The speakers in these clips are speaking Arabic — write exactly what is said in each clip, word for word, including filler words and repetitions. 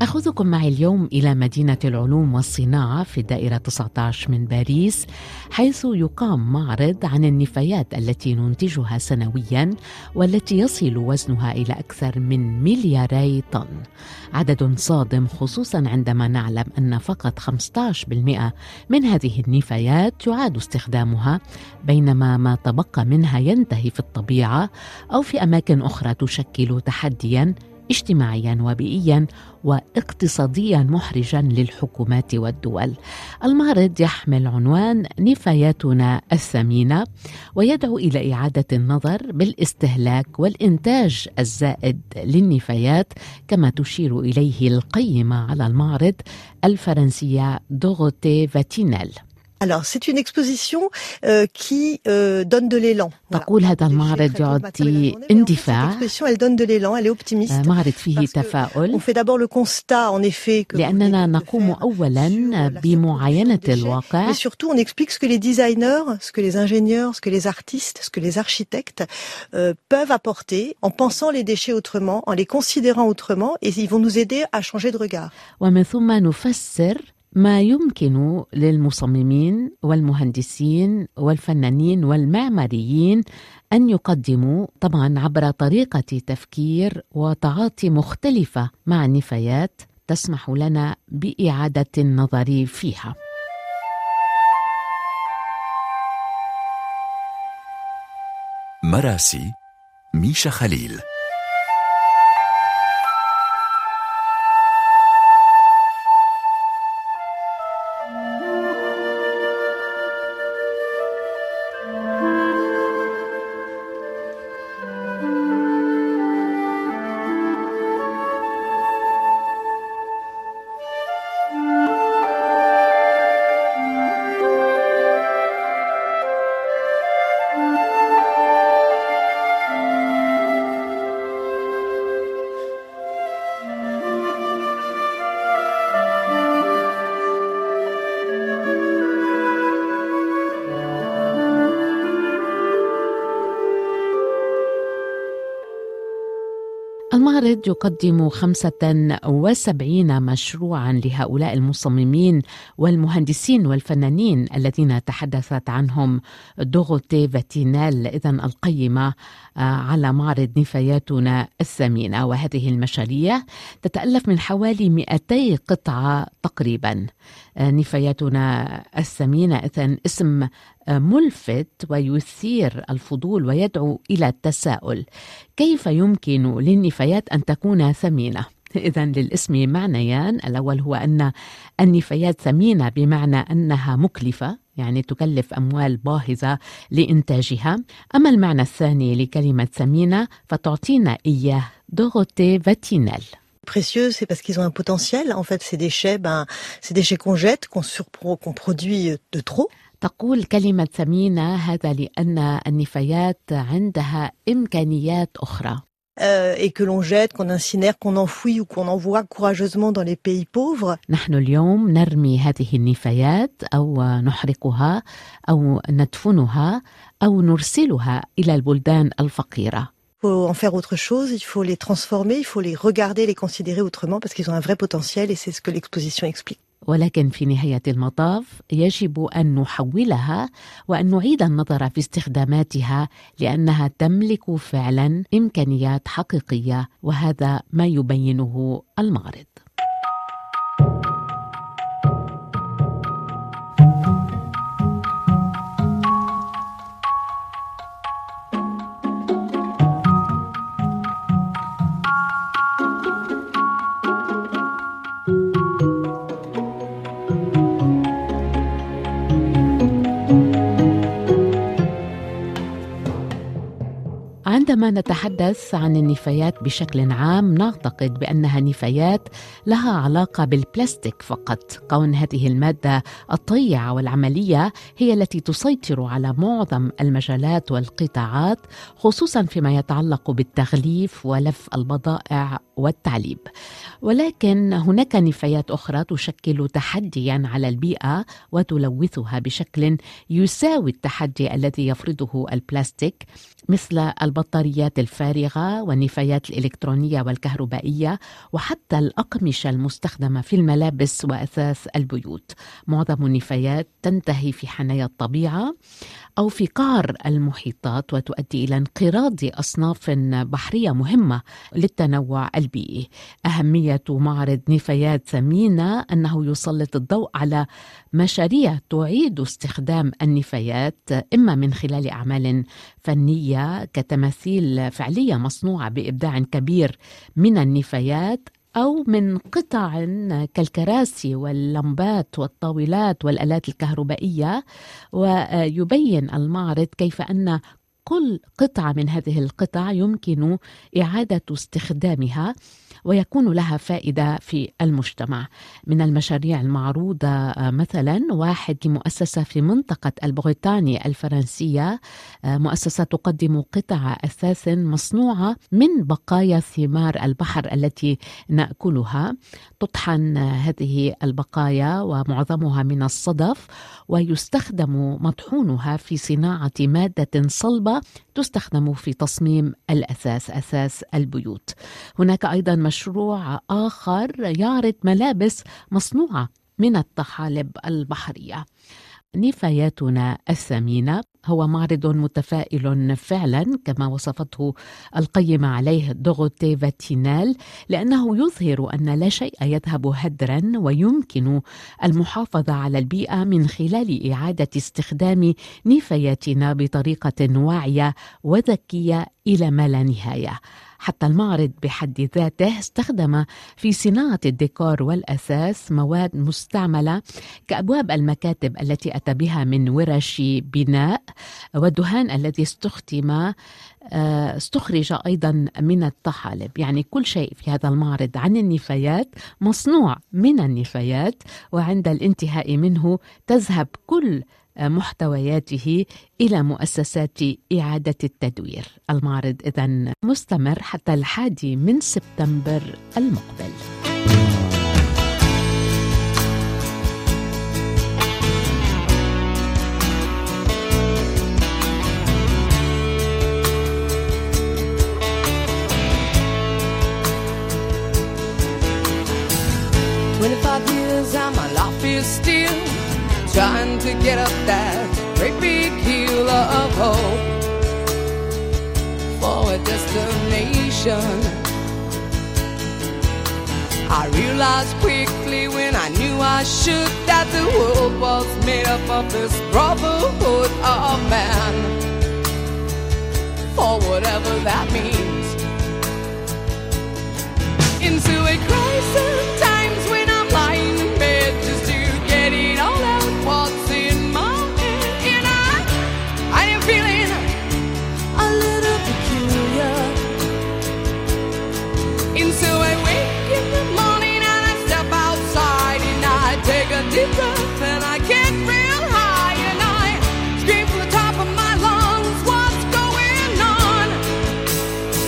سأخذكم معي اليوم إلى مدينة العلوم والصناعة في الدائرة تسعة عشر من باريس، حيث يقام معرض عن النفايات التي ننتجها سنوياً والتي يصل وزنها إلى أكثر من ملياري طن. عدد صادم، خصوصاً عندما نعلم أن فقط خمسة عشر بالمئة من هذه النفايات يعاد استخدامها، بينما ما تبقى منها ينتهي في الطبيعة أو في أماكن أخرى تشكل تحدياً اجتماعياً وبيئياً واقتصادياً محرجاً للحكومات والدول. المعرض يحمل عنوان نفاياتنا الثمينة، ويدعو إلى إعادة النظر بالاستهلاك والإنتاج الزائد للنفايات، كما تشير إليه القيمة على المعرض الفرنسية دوغوتي فاتينيل. Alors, c'est une exposition euh, qui euh, donne de l'élan. تقول هذا المعرض يعطي اندفاع. Elle donne de l'élan, elle est optimiste. معرض فيه تفاؤل. On fait d'abord le constat, en effet, que لأننا نقوم أولاً بمعاينة الواقع. Mais surtout, on explique ce que les designers, ce que les ingénieurs, ce que les artistes, ce que les architectes euh, peuvent apporter en pensant les déchets autrement, en les considérant autrement, et ils vont nous aider à changer de regard. ومن ثم نفسر ما يمكن للمصممين والمهندسين والفنانين والمعماريين أن يقدموا، طبعاً عبر طريقة تفكير وتعاطي مختلفة مع النفايات تسمح لنا بإعادة النظر فيها. مراسي ميشا خليل. المعرض يقدم خمسة وسبعين مشروعاً لهؤلاء المصممين والمهندسين والفنانين الذين تحدثت عنهم دوغوتي فاتينيل، إذن القيمة على معرض نفاياتنا الثمينة. وهذه المشاريع تتألف من حوالي مئتي قطعة تقريباً. نفاياتنا الثمينة إذن اسم ملفت ويثير الفضول ويدعو إلى التساؤل: كيف يمكن للنفايات أن تكون ثمينة؟ إذن للاسم معنيان، الأول هو أن النفايات ثمينة بمعنى أنها مكلفة، يعني تكلف أموال باهظة لإنتاجها. أما المعنى الثاني لكلمة ثمينة فتعطينا إياه دوغوتي فاتينيل. Précieux, c'est parce qu'ils ont un potentiel. En fait, ces déchets, ben, ces déchets qu'on jette, qu'on surpro, qu'on produit de trop. تقول كلمة ثمينة هذا لأن النفايات عندها إمكانيات أخرى. Euh, et que l'on jette, qu'on incinère, qu'on enfouit ou qu'on envoie courageusement dans les pays pauvres. نحن اليوم نرمي هذه النفايات أو نحرقها أو ندفنها أو نرسلها إلى البلدان الفقيرة. Il faut en faire autre chose, il faut les transformer, il faut les regarder, les considérer autrement parce qu'ils ont un vrai potentiel et c'est ce que l'exposition explique. ولكن في نهاية المطاف يجب أن نحولها وأن نعيد النظر في استخداماتها، لأنها تملك فعلا إمكانيات حقيقية، وهذا ما يبينه المعرض. عندما نتحدث عن النفايات بشكل عام نعتقد بأنها نفايات لها علاقة بالبلاستيك فقط، كون هذه المادة الطيعة والعملية هي التي تسيطر على معظم المجالات والقطاعات، خصوصا فيما يتعلق بالتغليف ولف البضائع والتعليب. ولكن هناك نفايات أخرى تشكل تحديا على البيئة وتلوثها بشكل يساوي التحدي الذي يفرضه البلاستيك، مثل البطاريات البطاريات الفارغة والنفايات الإلكترونية والكهربائية، وحتى الأقمشة المستخدمة في الملابس وأثاث البيوت. معظم النفايات تنتهي في حنايا الطبيعة أو في قعر المحيطات، وتؤدي إلى انقراض أصناف بحرية مهمة للتنوع البيئي. أهمية معرض نفايات ثمينة أنه يسلط الضوء على مشاريع تعيد استخدام النفايات، إما من خلال أعمال فنية كتماثيل فعلية مصنوعة بإبداع كبير من النفايات، أو من قطع كالكراسي واللمبات والطاولات والآلات الكهربائية. ويبين المعرض كيف أن كل قطعة من هذه القطع يمكن إعادة استخدامها ويكون لها فائدة في المجتمع. من المشاريع المعروضة مثلا واحد لمؤسسة في منطقة البريطاني الفرنسية، مؤسسة تقدم قطع أثاث مصنوعة من بقايا ثمار البحر التي نأكلها. تطحن هذه البقايا ومعظمها من الصدف، ويستخدم مطحونها في صناعة مادة صلبة تستخدم في تصميم الأثاث، أثاث البيوت. هناك أيضا مشروع آخر يعرض ملابس مصنوعة من الطحالب البحرية. نفاياتنا الثمينة هو معرض متفائل فعلا كما وصفته القيمة عليه دوغوتي فاتينال، لأنه يظهر أن لا شيء يذهب هدرا، ويمكن المحافظة على البيئة من خلال إعادة استخدام نفاياتنا بطريقة واعية وذكية إلى ما لا نهاية. حتى المعرض بحد ذاته استخدم في صناعة الديكور والأثاث مواد مستعملة كأبواب المكاتب التي أتى بها من ورش بناء، والدهان الذي استخدم استخرج أيضا من الطحالب. يعني كل شيء في هذا المعرض عن النفايات مصنوع من النفايات، وعند الانتهاء منه تذهب كل محتوياته إلى مؤسسات إعادة التدوير. المعرض إذن مستمر حتى الحادي من سبتمبر المقبل. twenty-five years and my life is still trying to get up that great big hill of hope for a destination. I realized quickly when I knew I should that the world was made up of this brotherhood of man, for whatever that means. Into a crisis times when I'm lying in bed just to get it all out what's in my head, and I, I am feeling a little peculiar. And so I wake in the morning and I step outside and I take a deep breath and I get real high and I scream from the top of my lungs, what's going on?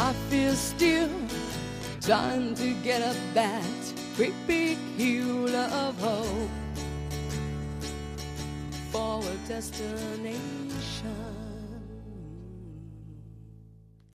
I feel still trying to get up that great big hill of hope for a destination.